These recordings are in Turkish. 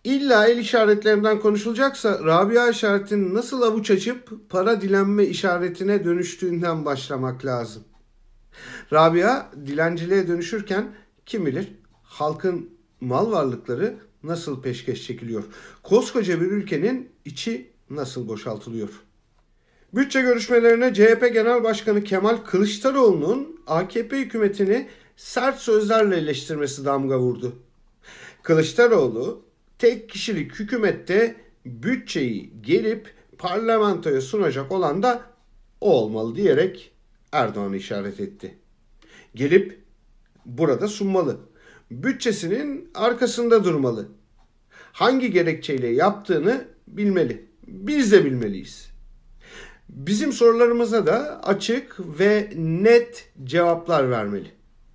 İlla el işaretlerinden konuşulacaksa Rabia işaretinin nasıl avuç açıp para dilenme işaretine dönüştüğünden başlamak lazım. Rabia dilenciliğe dönüşürken kim bilir halkın mal varlıkları nasıl peşkeş çekiliyor. Koskoca bir ülkenin içi nasıl boşaltılıyor. Bütçe görüşmelerine CHP Genel Başkanı Kemal Kılıçdaroğlu'nun AKP hükümetini sert sözlerle eleştirmesi damga vurdu. Kılıçdaroğlu tek kişilik hükümette bütçeyi gelip parlamentoya sunacak olan da o olmalı diyerek Erdoğan'ı işaret etti. Gelip burada sunmalı. Bütçesinin arkasında durmalı. Hangi gerekçeyle yaptığını bilmeli. Biz de bilmeliyiz. Bizim sorularımıza da açık ve net cevaplar vermeli.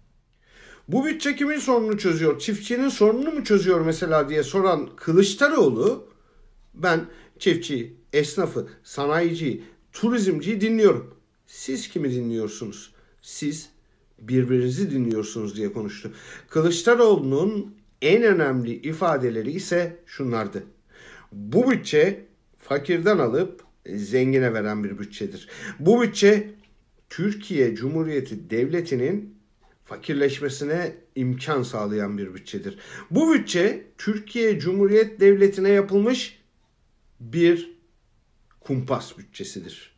Bu bütçe kimin sorununu çözüyor? Çiftçinin sorununu mu çözüyor mesela diye soran Kılıçdaroğlu, ben çiftçiyi, esnafı, sanayiciyi, turizmciyi dinliyorum. Siz kimi dinliyorsunuz? Siz birbirinizi dinliyorsunuz diye konuştu. Kılıçdaroğlu'nun en önemli ifadeleri ise şunlardı. Bu bütçe fakirden alıp zengine veren bir bütçedir. Bu bütçe Türkiye Cumhuriyeti Devleti'nin fakirleşmesine imkan sağlayan bir bütçedir. Bu bütçe Türkiye Cumhuriyet Devleti'ne yapılmış bir kumpas bütçesidir.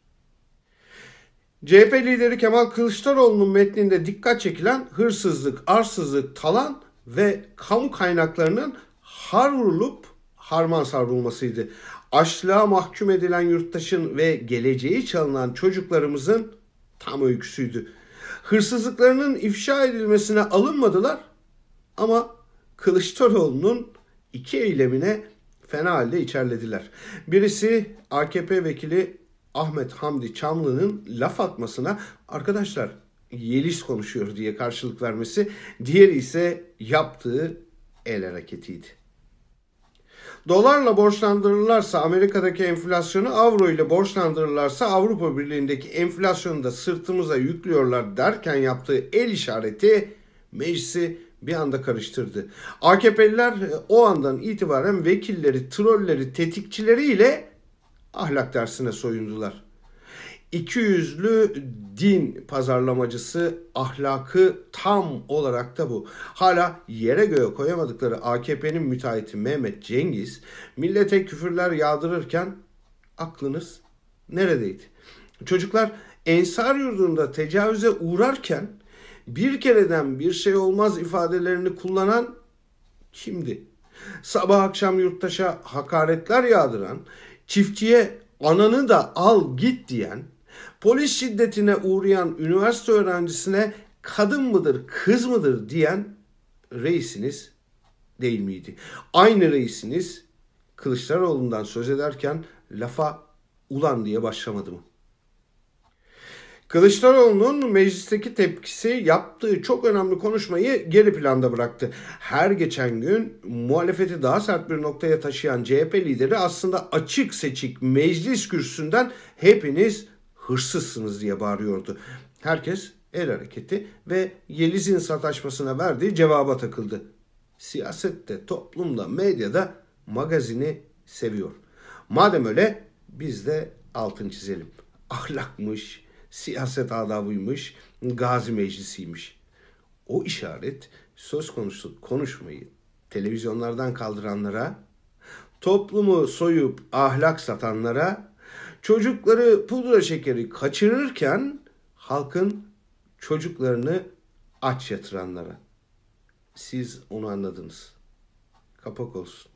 CHP lideri Kemal Kılıçdaroğlu'nun metninde dikkat çekilen hırsızlık, arsızlık, talan ve kamu kaynaklarının har vurulup harman savrulmasıydı. Açlığa mahkum edilen yurttaşın ve geleceği çalınan çocuklarımızın tam öyküsüydü. Hırsızlıklarının ifşa edilmesine alınmadılar ama Kılıçdaroğlu'nun iki eylemine fena halde içerlediler. Birisi AKP vekili Ahmet Hamdi Çamlı'nın laf atmasına arkadaşlar Yeliz konuşuyor diye karşılık vermesi, diğeri ise yaptığı el hareketiydi. Dolarla borçlandırırlarsa Amerika'daki enflasyonu, avro ile borçlandırırlarsa Avrupa Birliği'ndeki enflasyonu da sırtımıza yüklüyorlar derken yaptığı el işareti meclisi bir anda karıştırdı. AKP'liler o andan itibaren vekilleri, trolleri, tetikçileriyle ahlak dersine soyundular. İkiyüzlü din pazarlamacısı ahlakı tam olarak da bu. Hala yere göğe koyamadıkları AKP'nin müteahhiti Mehmet Cengiz millete küfürler yağdırırken aklınız neredeydi? Çocuklar Ensar Yurdu'nda tecavüze uğrarken bir kereden bir şey olmaz ifadelerini kullanan kimdi? Sabah akşam yurttaşa hakaretler yağdıran, çiftçiye ananı da al git diyen, polis şiddetine uğrayan üniversite öğrencisine kadın mıdır, kız mıdır diyen reisiniz değil miydi? Aynı reisiniz Kılıçdaroğlu'ndan söz ederken lafa ulan diye başlamadı mı? Kılıçdaroğlu'nun meclisteki tepkisi yaptığı çok önemli konuşmayı geri planda bıraktı. Her geçen gün muhalefeti daha sert bir noktaya taşıyan CHP lideri aslında açık seçik meclis kürsüsünden hepiniz hırsızsınız diye bağırıyordu. Herkes el hareketi ve Yeliz'in sataşmasına verdiği cevaba takıldı. Siyasette, toplumda, medyada magazini seviyor. Madem öyle biz de altın çizelim. Ahlakmış, siyaset adabıymış, gazi meclisiymiş. O işaret söz konusu konuşmayı televizyonlardan kaldıranlara, toplumu soyup ahlak satanlara, çocukları pudra şekeri kaçırırken halkın çocuklarını aç yatıranlara. Siz onu anladınız. Kapak olsun.